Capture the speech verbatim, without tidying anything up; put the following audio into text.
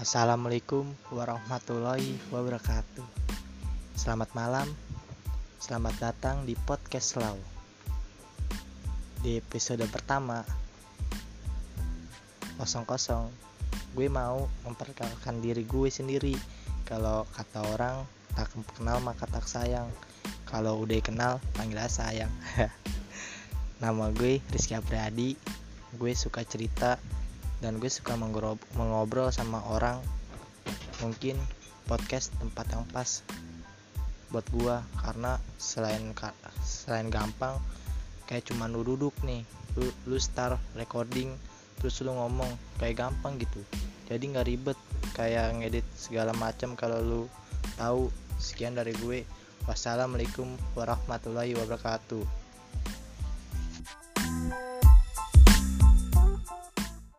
Assalamualaikum warahmatullahi wabarakatuh. Selamat malam, selamat datang di podcast Lau. Di episode pertama kosong kosong, gue mau memperkenalkan diri gue sendiri. Kalau kata orang, tak kenal maka tak sayang. Kalau udah kenal, panggil aja sayang. Nama gue Rizky Apriadi. Gue suka cerita dan gue suka mengobrol sama orang. Mungkin podcast tempat yang pas buat gue, karena selain selain gampang, kayak cuma lu duduk nih, lu, lu start recording terus lu ngomong, kayak gampang gitu. Jadi nggak ribet kayak ngedit segala macam. Kalau lu tahu. Sekian dari gue. Wassalamualaikum warahmatullahi wabarakatuh.